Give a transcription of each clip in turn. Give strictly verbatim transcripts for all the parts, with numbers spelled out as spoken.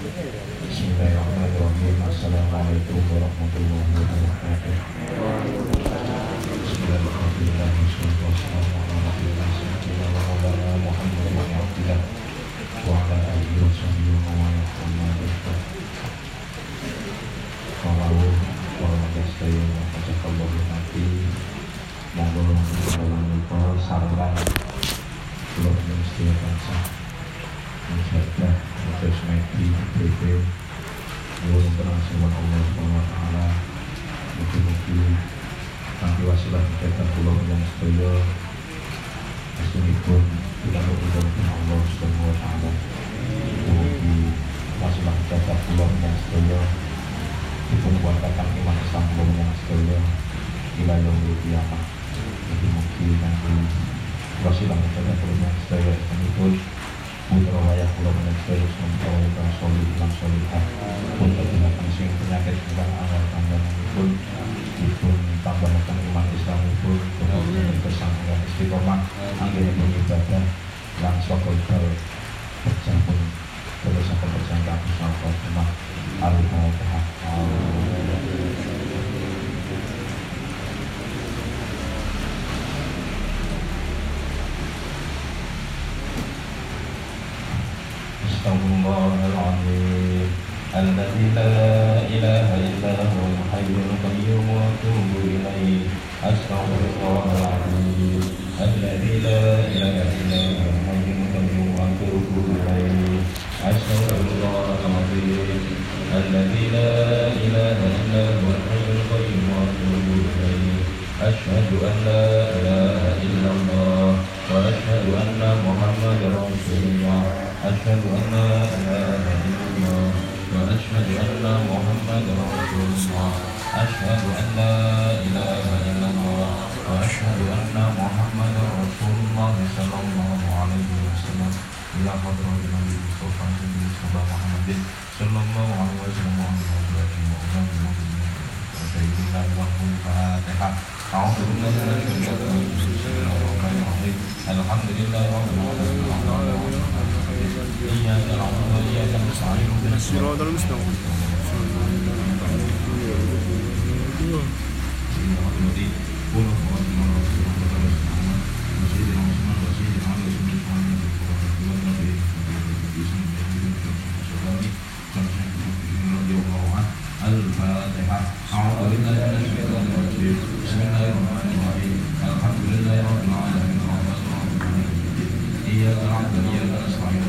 Bismillahirrahmanirrahim. Assalamualaikum warahmatullahi wabarakatuh. Kanthi wasilah kegiatan kula yang sedaya astunipun kita berdoa Allah Subhanahu wa taala. Mugi wasilah kegiatan kula yang sedaya dipun kuatakan iman Islam kula yang sedaya ila yaumil qiyamah. Mugi kanthi wasilah kegiatan kula yang sedaya astunipun putra wayah kula yang sedaya sampun solih lan solihah pun terjadi sing penyakit ingkang awal tanggalipun dipun tambahaken iman Islam pun kemudian bersangka istiqomah anggenipun ibadah lan sokol-sokol pecah pun terus akan berjangka bersama rumah al-Fatihah. Astagfirullahaladzim alladzi la ilaha illa huwal hayyul qayyum wa atubu ilaihi. Astagfirullahaladzim alladzi la ilaha illa huwal hayyul qayyum wa atubu ilaihi. Astagfirullahaladzim alladzi la ilaha illa huwal hayyul qayyum wa atubu ilaihi. Asyhadu an la ilaha illallah wa asyhadu anna Muhammadar Rasulullah. Asyhadu an la ilaha illallah wa asyhadu anna Muhammadar Rasulullah. Asyhadu an la ilaha illallah wa asyhadu anna Muhammadar Rasulullah sallallahu alaihi wasallam. Ila hadratin Nabi Mustafa sallallahu Muhammadin sallallahu alaihi wasallam wa ala sayyidina Muhammadin Fatihah. A'udzu billahi minasy syaithanir rajim. Alhamdulillahi rabbil alamin. Iyyaka na'budu wa iyyaka nasta'in. Ihdinas siratal mustaqim. Al-Fatihah. A'udzu billahi minasy syaithanir rajim. Bismillahirrahmanirrahim. Alhamdulillahi rabbil alamin. Iyyaka na'budu wa iyyaka nasta'in.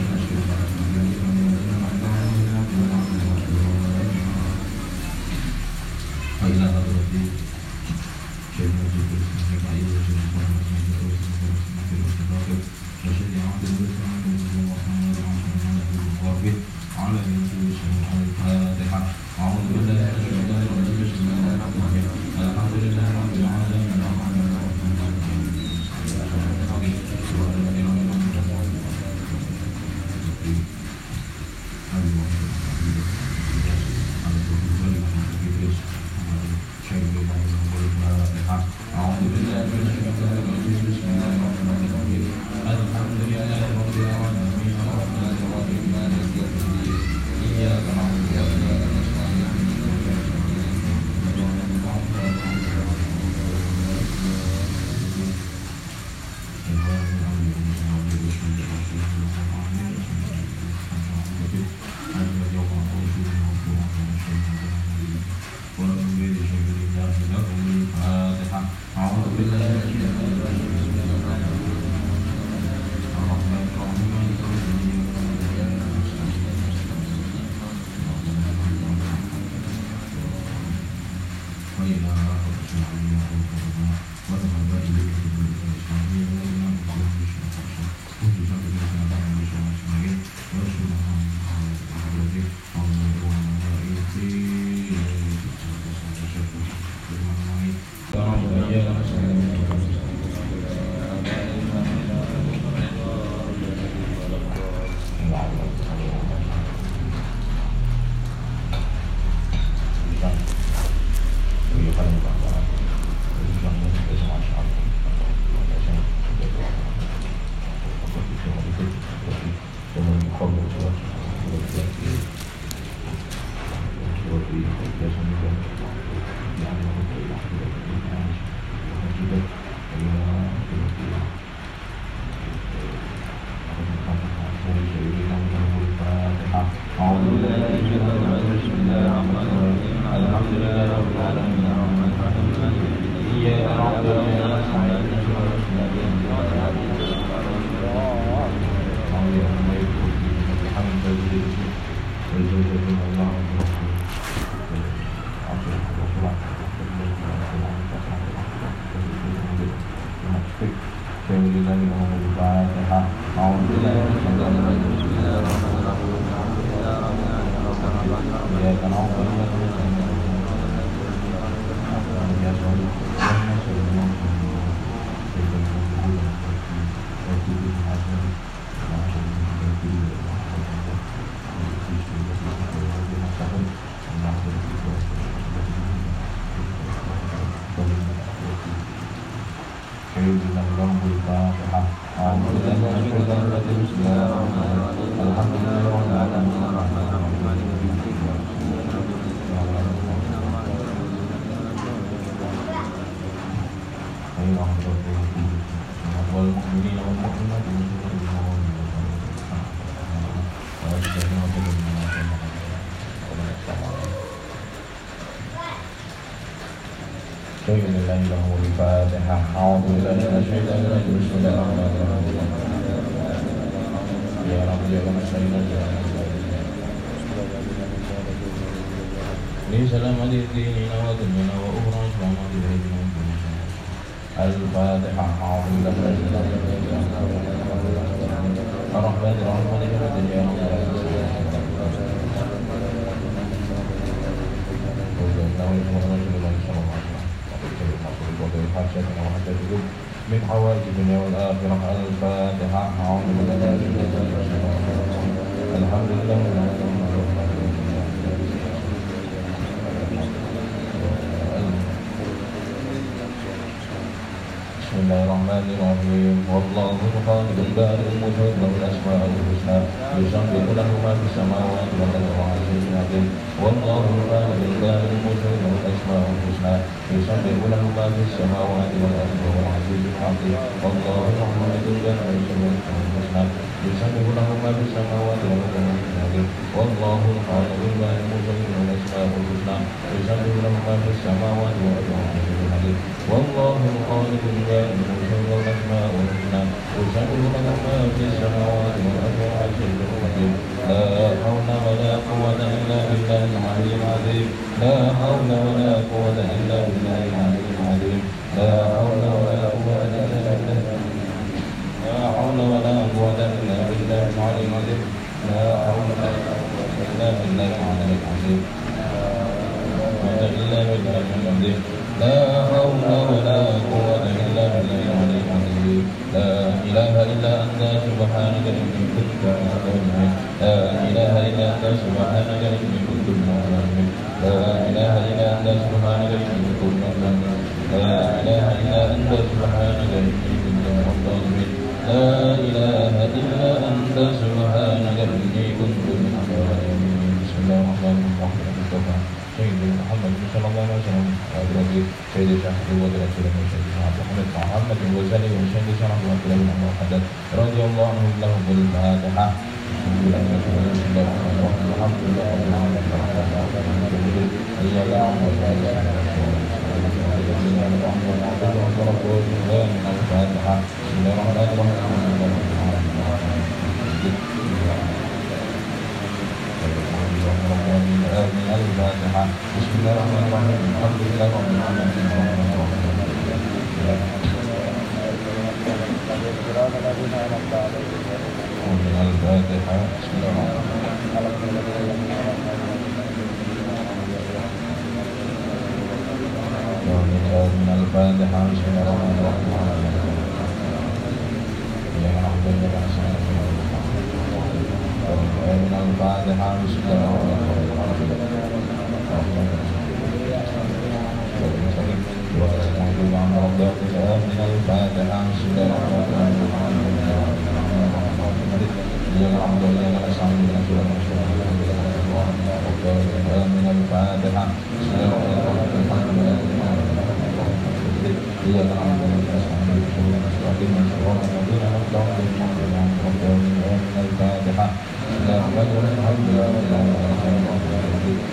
أعوذ بالله من الشيطان الرجيم بسم الله الرحمن الرحيم الحمد لله رب العالمين الرحمن الرحيم إياك نعبد وإياك نستعين اهدنا الصراط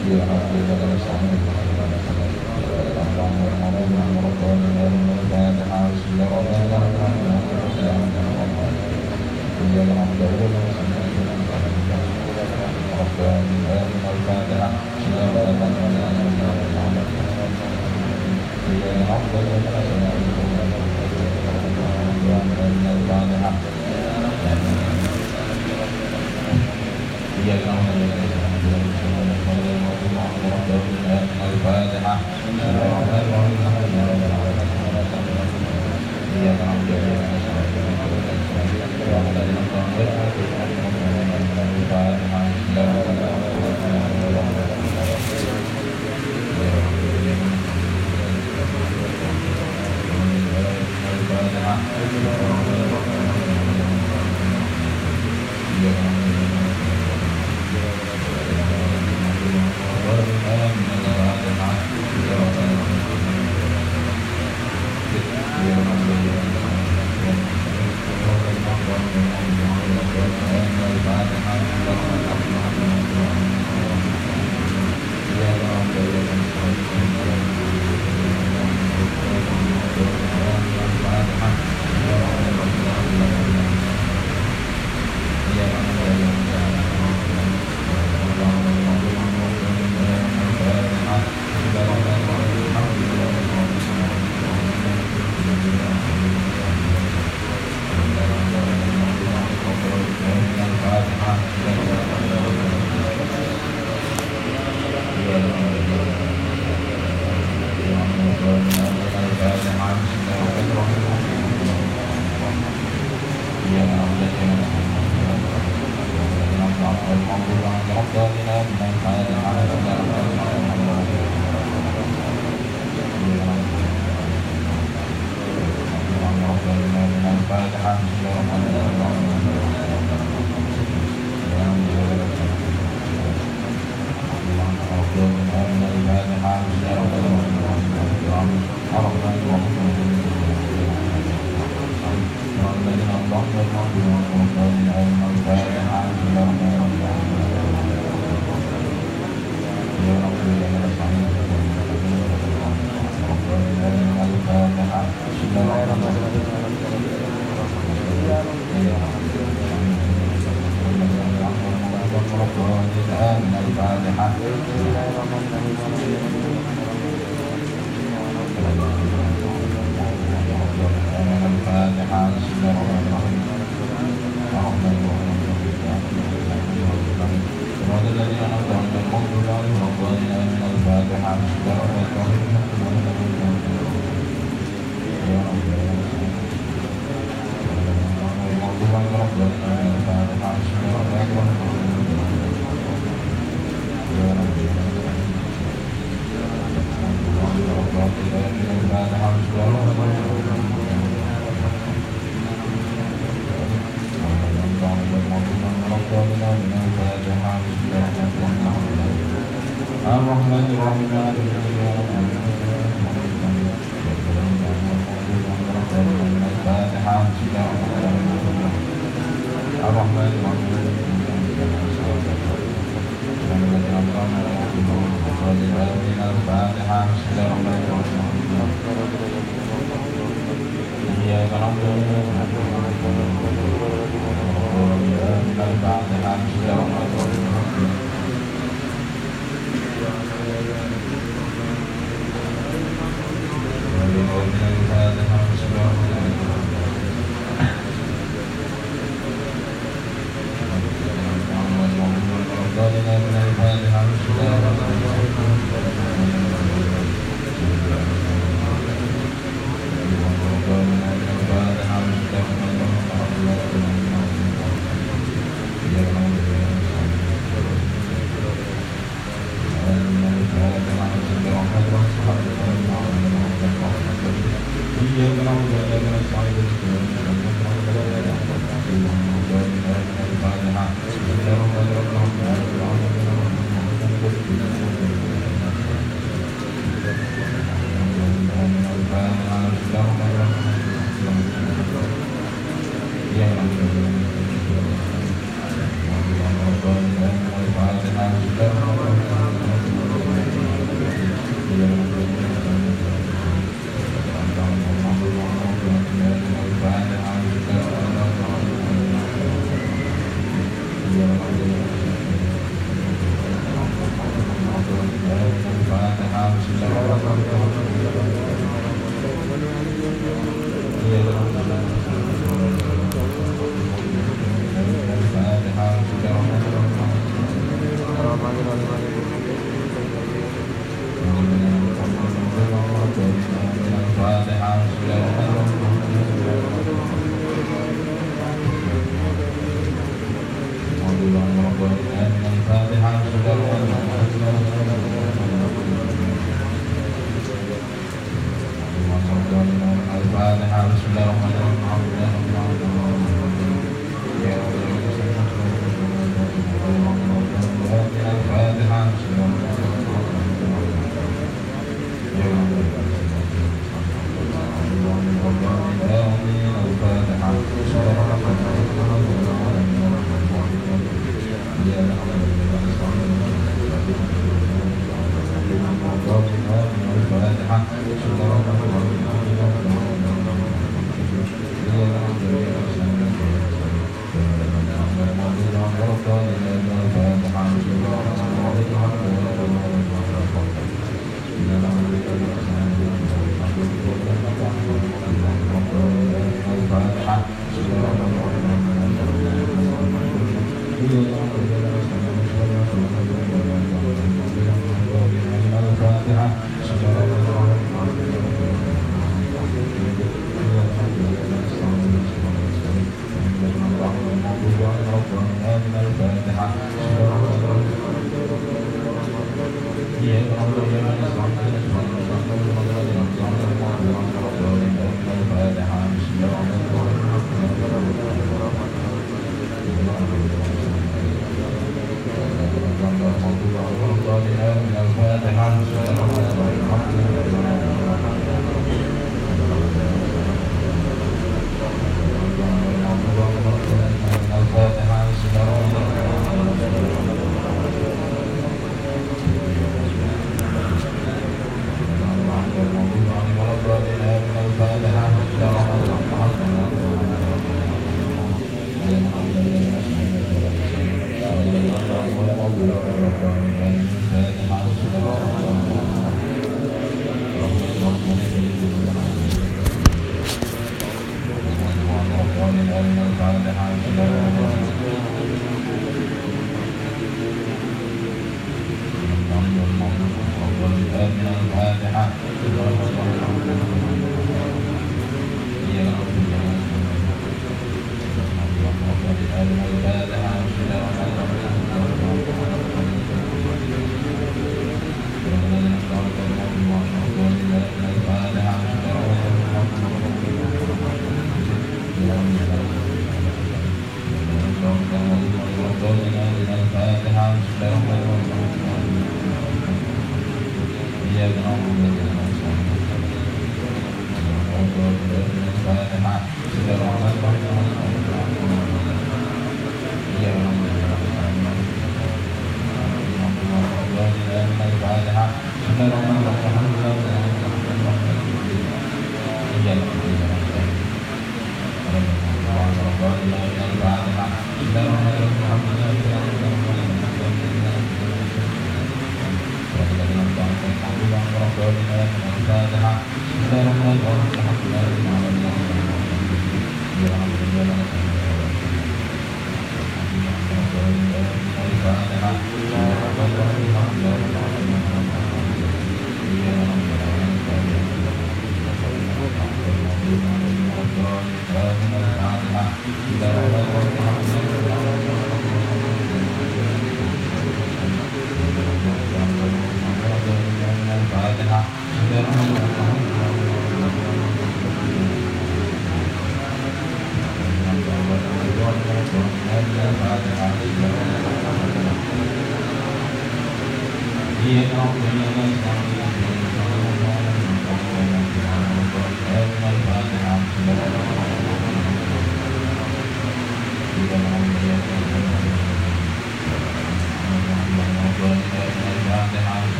Bismillahirrahmanirrahim.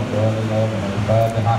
الفاتحة.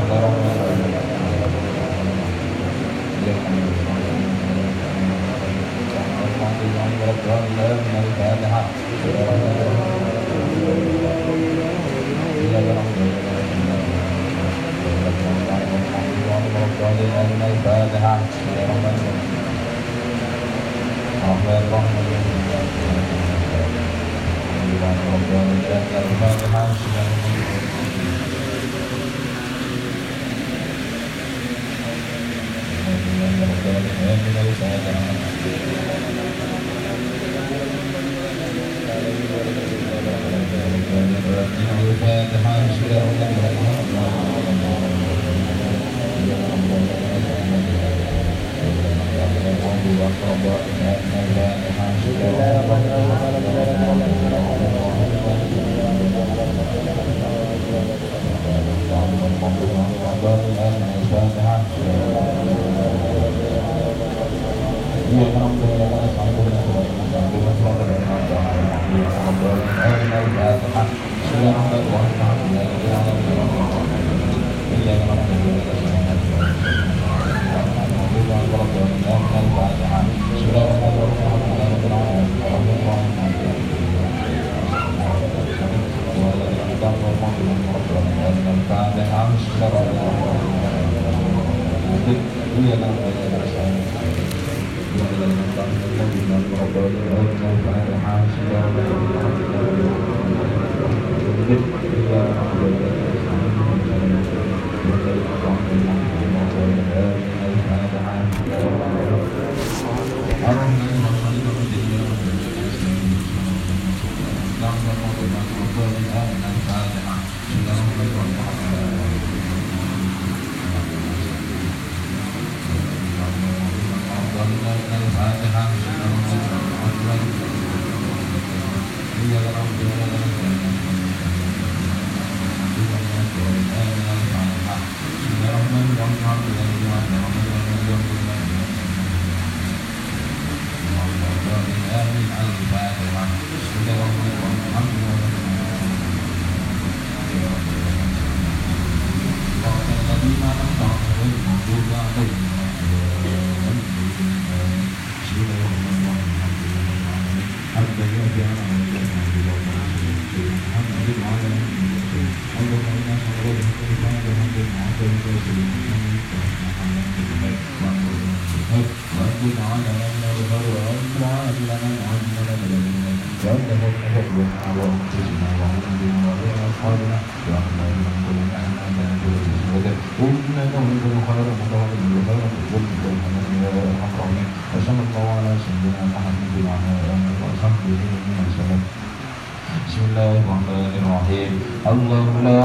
الله لا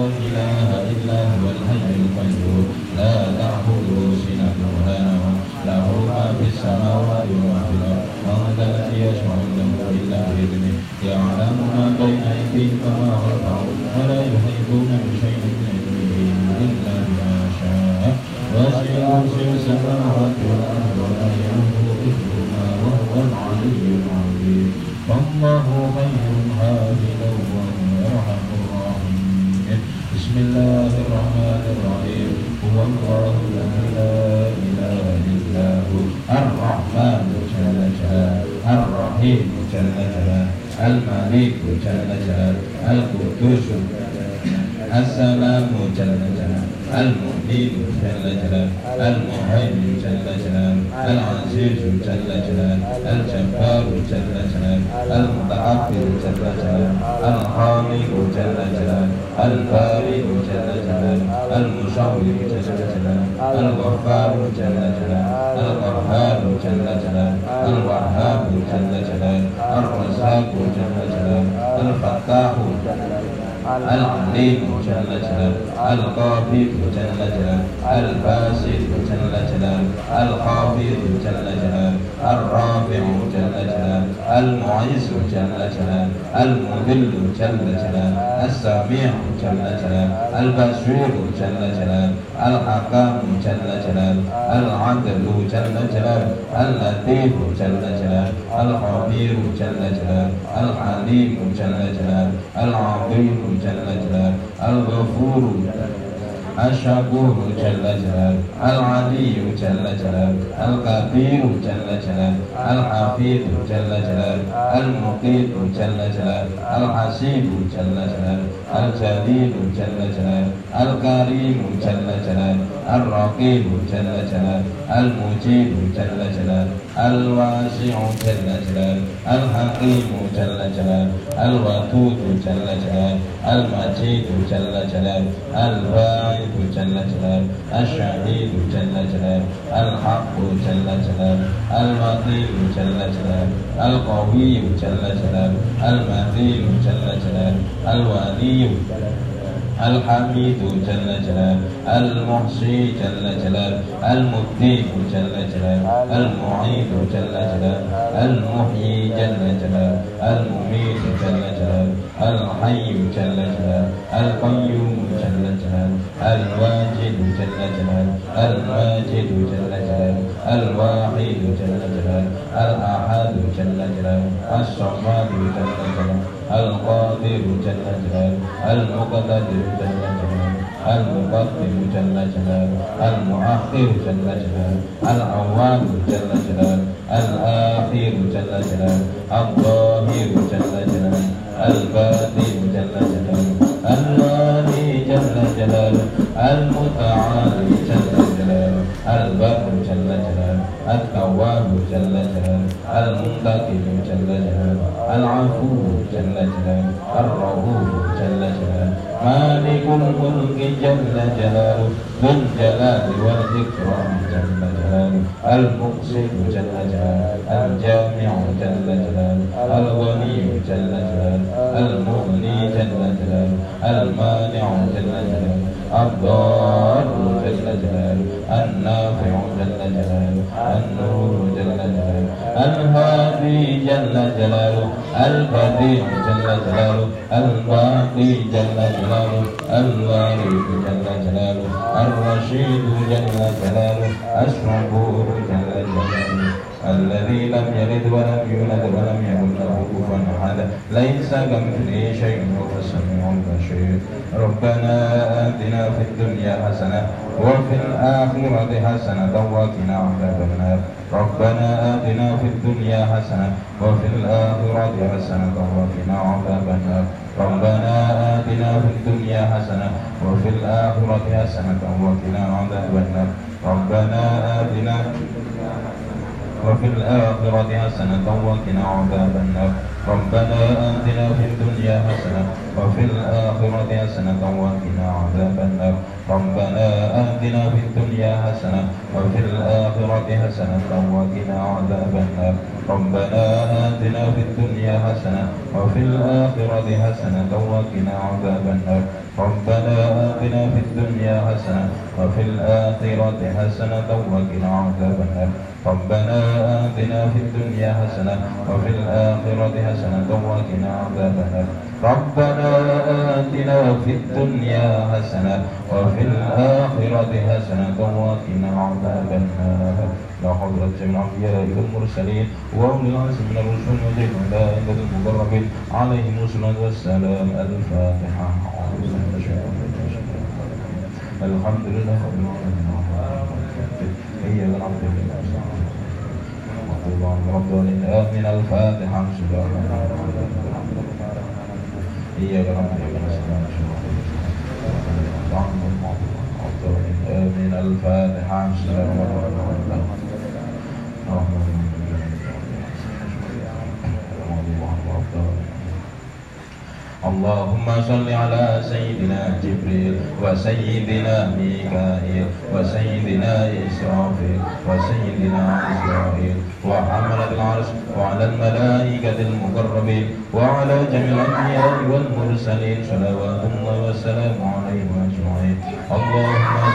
إله إلا هو الحي القيوم لا تأخذه سنة ولا نوم له ما في السماوات وما في الأرض ومن ذا الذي يشفع عنده إلا بإذنه يعلم ما بين أيديهم وما خلفهم ولا يحيطون بشيء من علمه إلا بما شاء وسع كرسيه السماوات والأرض ولا يؤوده حفظهما وهو العلي العظيم والله خير حافظا وهو أرحم الراحمين. بسم الله الرحمن الرحيم هو الله الذي لا إله إلا هو الرحمن جل جلاله الرحيم جل جلاله الملك جل جلاله القدوس السلام جل جلاله المؤمن جل جلاله المهيمن جل جلاله العزيز جل جلاله الجبار جل جلاله المتكبر جل جلاله الخالق جل جلاله البارئ جل جلاله المصور جل جلاله الغفار جل جلاله القهار جل جلاله الوهاب جل جلاله الرزاق جل جلاله الفتاح العليم جل جلاله القابض جل جلاله الباسط جل جلاله الخافض جل جلاله الرافع جل جلاله المعز جل جلاله المذل جل جلاله السميع جل جلاله البصير جل جلاله الحكم جل جلاله العدل جل جلاله اللطيف جل جلاله الخبير جل جلاله الحليم جل جلاله العظيم جل جلاله الغفور الشكور جل جلاله العلي جل جلاله الكبير جل جلاله الحفيظ جل جلاله المقيت جل جلاله الحسيب جل جلاله الجليل جل جلاله الكريم جل جلاله الرقيب جل جلاله المجيب جل جلاله الواسع جل جلاله الحكيم جل جلاله الودود جل جلاله المجيد جل جلاله الباعث جل جلاله الشهيد جل جلاله الحق جل جلاله المقيم جل جلاله القوي جل جلاله المتين جل جلاله الولي الحميد جل جلاله المحصي جل جلاله المبدئ جل جلاله المعيد جل جلاله المحيي جل جلاله المميت جل جلاله الحي جل جلاله القيوم جل جلاله الواجد جل جلاله الماجد جل جلاله الواحد جل جلاله الأحد جل جلاله الصمد جل جلاله القادر جل جلاله المقتدر جل جلاله المقدم جل جلاله المؤخر جل جلاله الأول جل جلاله الآخر جل جلاله الظاهر جل جلاله الباطن جل جلاله الوالي جل جلاله المتعالي جل جلاله البر جل جلاله التواب جل جلاله المنتقم جل جلاله العفو جل جلاله الرؤوف جل جلاله مالك الملك جل جلاله ذو الجلال والإكرام جل جلاله المقسط جل جلاله الجامع جل جلاله الغني جل جلاله المغني جل جلاله المانع جل جلاله الضار جل جلاله النافع جل جلاله النور جل جلاله الهادي جل جلاله البديع جل جلاله الباقي جل جلاله الوارث جل جلاله الرشيد جل جلاله الصبور جل جلاله الذي لم يلد ولم يولد ولم يكن له كفوا احد ليس كمثله شيء وهو السميع البصير ربنا آتنا في الدنيا حسنة وفي الآخرة حسنة وقنا عذاب النار ربنا آتنا في الدنيا حسنة وفي الآخرة حسنة وقنا عذاب النار ربنا آتنا في الدنيا حسنة وفي الآخرة حسنة وقنا عذاب النار ربنا آتنا وفي الآخرة حسنة وقنا عذاب النار ربنا آتنا في الدنيا حسنة وفي الآخرة حسنة وقنا عذاب النار ربنا آتنا في الدنيا حسنة وفي الآخرة حسنة وقنا عذاب النار ربنا آتنا في الدنيا حسنة وفي الآخرة حسنة وقنا عذاب النار ربنا آتنا في الدنيا حسنة وفي الآخرة حسنة وقنا عذاب النار ربنا آتنا في الدنيا حسنة وفي الآخرة حسنة وقنا عذاب النار ربنا آتنا في الدنيا حسنة وفي الآخرة حسنة وقنا عذاب النار لا حول ولا قوة إلا بالله المرسلين وأولي العزم من الرسل والملائكة المقربين عليهم الصلاة والسلام الفاتحة الحمد لله رب العالمين إياك نعبد وإياك نستعين اللهم ربنا آمين الفاتحة إياك نعبد وإياك نستعين آمين الفاتحة اللهم صل على سيدنا جبريل وسيدنا ميكائيل وسيدنا إسرافيل وسيدنا إسرائيل وحملة العرش وعلى الملائكة المقربين وعلى جميع الأنبياء والمرسلين صلوات الله وسلامه عليهم أجمعين اللهم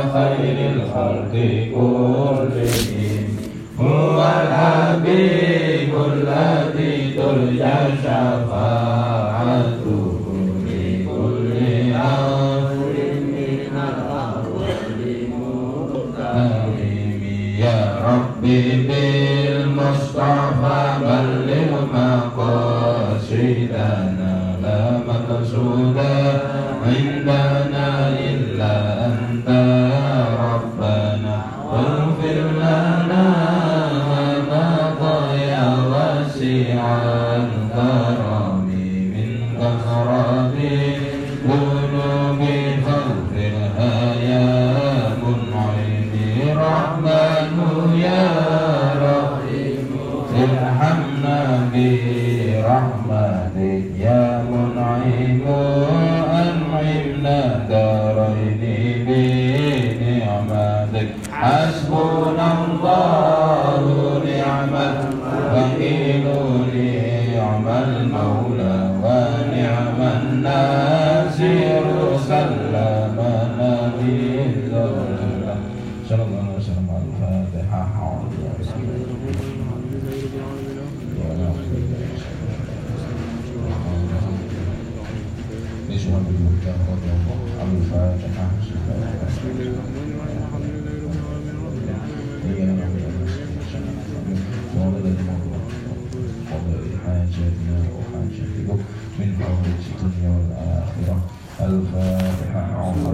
خير الخلق كلهم هو الحبيب الذي ترجى شفاعته لكل أمر من الأموال مقترم يا ربي بالمصطفى بلغ مقاصدنا لا مقصودا عندنا إلا أنت ربنا واغفر لنا ما ضيع واسع الكرم من كثرة ذنوب فاغفرها يا منعم رحمن يا رحيم ارحمنا برحمتك يا منعم أنعمنا دارين بنعمتك حسبنا الله نعم الوكيل نعم المولى ونعم الناصر سلمنا بالله صلى الله عليه وسلم على الفاتحة نسوان بالمكان رضي الله على الفاتحة حاجاتنا وحاجاتكم من حوائج الدنيا والآخرة الفاتحة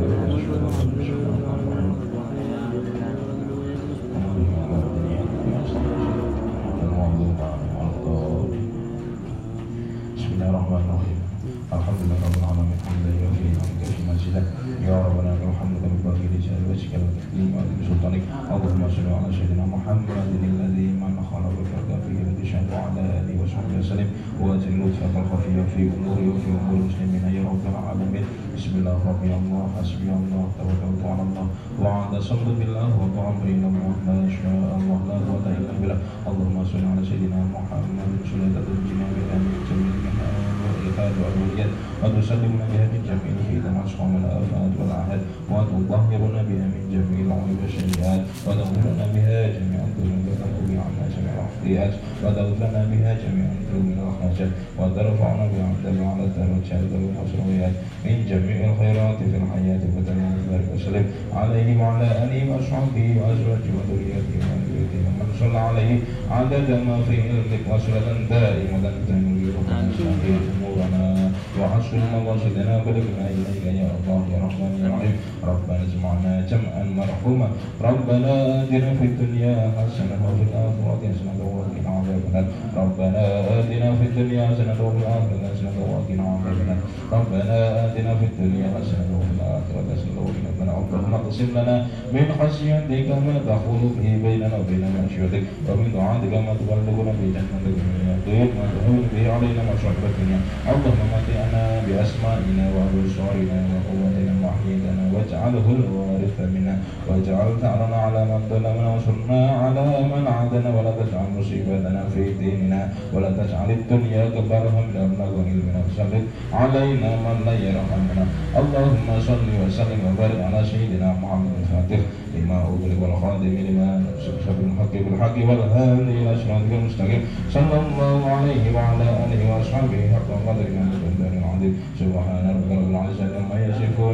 بسم الله الرحمن الرحيم الحمد لله رب العالمين حمدا يوفي نعمك في منزلك يا ربنا وحمدك بباقي رجال وجهك والتكريم وعظيم سلطانك اللهم صل على سيدنا محمد الذي من خلقك فيه الذي شهد على اله وصحبه وسلم واجل لطفك الخفي في اموري وفي امور المسلمين يا رب العالمين بسم الله ربي الله حسبي الله توكلت على الله واعتصمت بالله وطعم بين الله ما شاء الله لا قوه الا بالله اللهم صل على سيدنا محمد صلاه تنجينا بها من جميع الإلحاد والوليات وتسلمنا بها من جميع الفتن والأسقام والآفات والأعهاد وتطهرنا بها من جميع العيوب والسيئات وتغفرنا بها جميع الذنوب وتقضي عنا جميع الخطيئات وتغفرنا بها جميع الذنوب والحاجات وترفعنا بها عند على الدرجات والمسرويات من جميع الخيرات في الحياة والدنيا وبارك وسلم عليه وعلى آله وأصحابه وأزواجه وذريته ومن بيته ومن صلى عليه عدد ما في علمك وصلة دائمة تنوير ومساكين أمورنا وحسن مقاصدنا بلغنا إليك يا الله يا رحمن يا رحيم ربنا اجمعنا جمعا مرحوما ربنا آتنا في الدنيا حسنة وفي الآخرة حسنة وقنا عذاب النار ربنا آتنا في الدنيا حسنة وفي الآخرة حسنة وقنا عذاب النار ربنا آتنا في الدنيا حسنة وفي الآخرة حسنة وقنا عذاب النار اللهم اقسم لنا من خشيتك ما تحول به بيننا وبين معصيتك ومن طاعتك ما تبلغنا به جنتك ومن اليقين ما تهون به علينا مصائب الدنيا اللهم متعنا بأسمائنا وأبصارنا وقوتنا وأحيينا واجعله الوارث منا واجعل ثأرنا على من ظلمنا وانصرنا على من عادنا ولا تجعل مصيبتنا في ديننا ولا تجعل الدنيا أكبر همنا ومبلغ علمنا وسلط علينا من لا يرحمنا اللهم صل وسلم وبارك على سيدنا محمد الفاتح لما أغلق والخاتم لما سبق الحق بالحق والهادي إلى صراطك المستقيم صلى الله عليه وعلى آله وأصحابه حق قدر من العظيم سبحان ربك رب العزة عما يصفون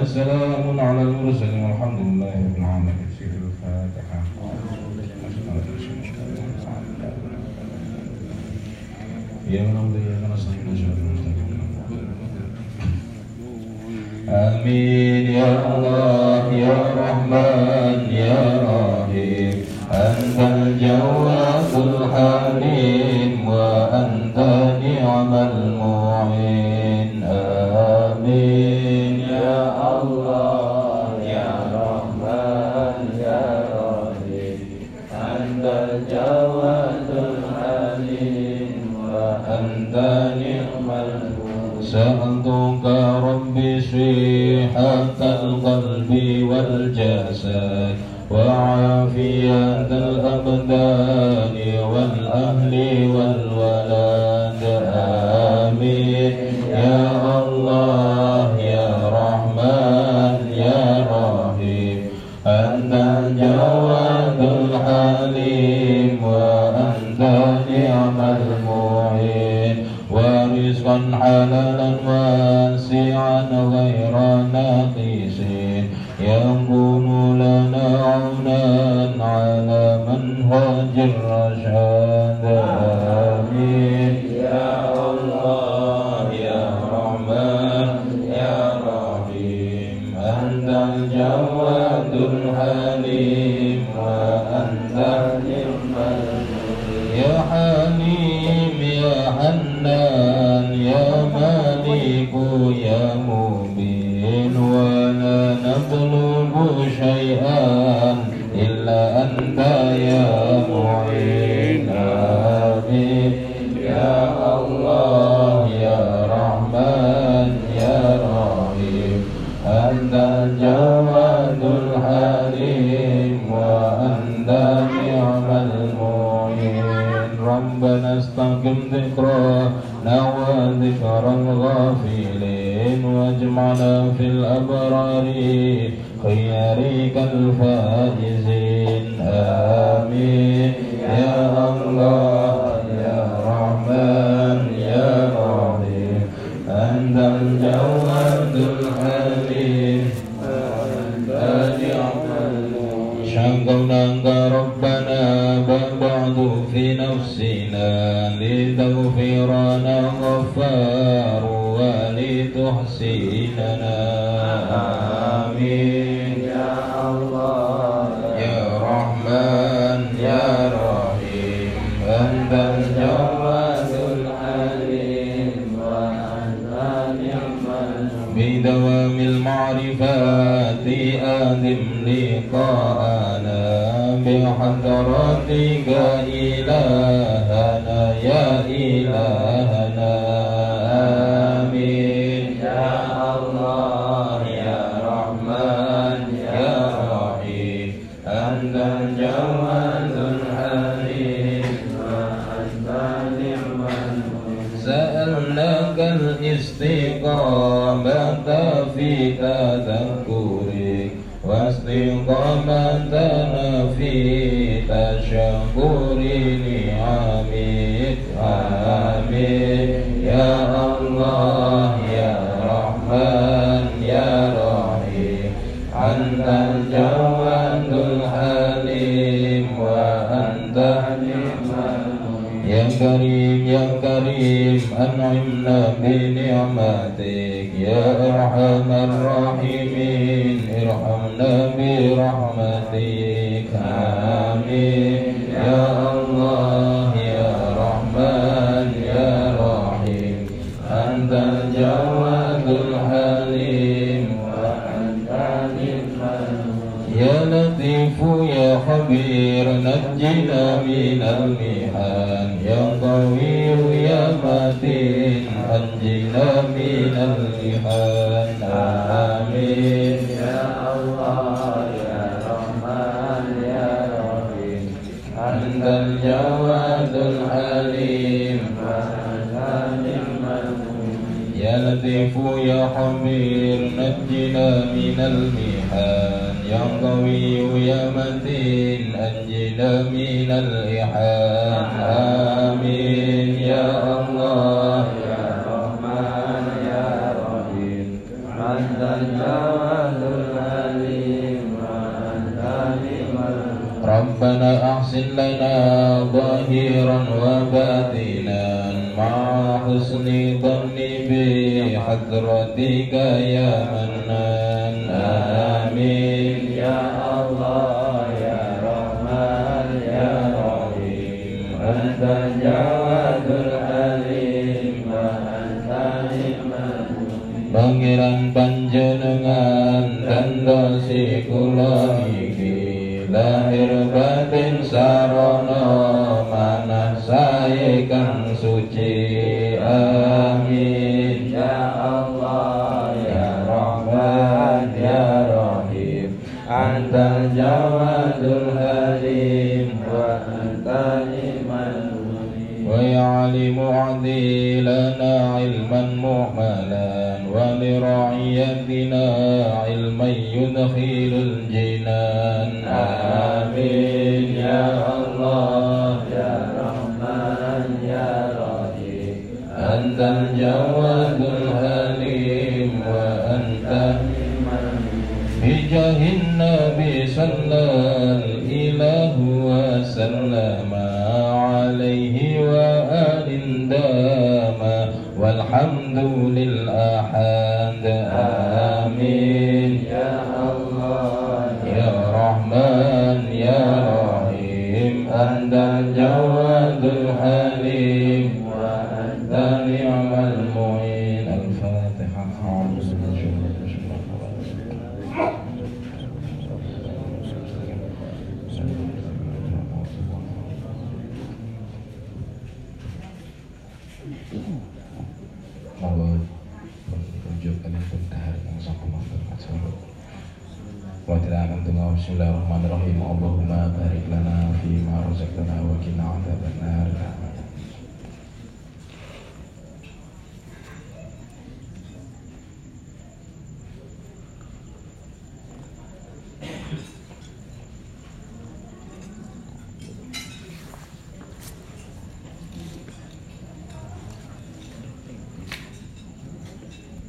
وسلام على المرسلين والحمد لله رب العالمين. الفاتحة. يا رب يا نستعين آمين يا الله يا رحمن يا رحيم أنت الجواد الحليم وأنت نعم المعين آمين يا الله يا رحمن يا رحيم أنت الجواد الحليم وأنت نعم المعين سألتك ربي صحة القلب والجسد وعافية الأبدان والأهل والولد آمين يا الله يا رحمن يا رحيم أنت الجواد الحليم وأنت نعم المعين ورزقا حلالا واسعا غير ناقص يكون لنا عونا على منهج الرشاد آمين يا الله يا رحمن يا رحيم أنت الجواد الحليم وأنت نعم المعين يا حليم يا حنان يا مالك يا مبين ولا نطلب شيئا إلا أنت يا معين آمين يا الله يا رحمن يا رحيم أنت الجواد الحليم وأنت نعم المعين ربنا استقم ذكرنا وذكر الغافلين واجمعنا في الأبرار خيارك الفائزين آمين يا الله يا رحمن يا رحيم أنت الجواد الحليم وأنت نعم المعين شكوناك ربنا بعد في نفسنا لتغفرنا غفار ولتحسننا آمين يا الله يا رحمن يا رحيم أنت الجواد الحليم وأنت نعم بدوام المعرفات آدم لقاءنا بحضرتك إلهنا يا إلهنا آمين يا الله يا رحمن يا رحيم أنت الجواد الحليم وأنت نعم المعين سألناك الاستقامة في تذكرك واستقامتنا في تشكر نعمك آمين يا الله يا رحمن يا رحيم أنت الجواد الحليم وأنت نعم المعين يا كريم يا كريم أنعمنا بنعمتك يا أرحم الراحمين ارحمنا برحمتك آمين يا الله يا رحمن يا رحيم أنت الجواد الحليم وأنت نعم المعين يا لطيف يا خبير نجنا من المحن يا قوي يا متين أنجنا من المحن آمين يا الله يا رحمن يا رحيم أنت الجواد الحليم وأنت نعم المعين يا لطيف يا خبير نجنا من المحن يا قوي يا متين أنجنا من الإحان آمين يا الله يا رحمن يا رحيم أنت الجواد الحليم وأنت نعم المعين ربنا أحسن لنا ظاهرا وباطنا مع حسن ظن بحضرتك يا منان آمين يا الله يا رحمن يا رحيم أنت الجواد الحليم وأنت نعم المعين Pangeran panjenengan dan dosi kula niki lahir batin sarana manah sae kang suci amin ya Allah ya Rahman ya Rahim antal jawadul halim wa anta ni'mal ويعلم أعدي لنا علما مؤملا ولرعيتنا علما يدخل الجنان آمين يا الله يا رحمن يا رحيم أنت الجواد الحليم وأنت بجاه النبي صلى الإله وسلم عليه وآل داما والحمد للأحد آمين يا الله يا رحمن يا رحيم أنت الجواد الحليم وأنت نعم المعين الفاتحة أعوذ Monggo tunjuk kalian bentar yang sampun matur solo. Wa ta'ala tunggu bismillahirrahmanirrahim. Allahumma barik lana fi ma razaqtana wa qina adzabannar.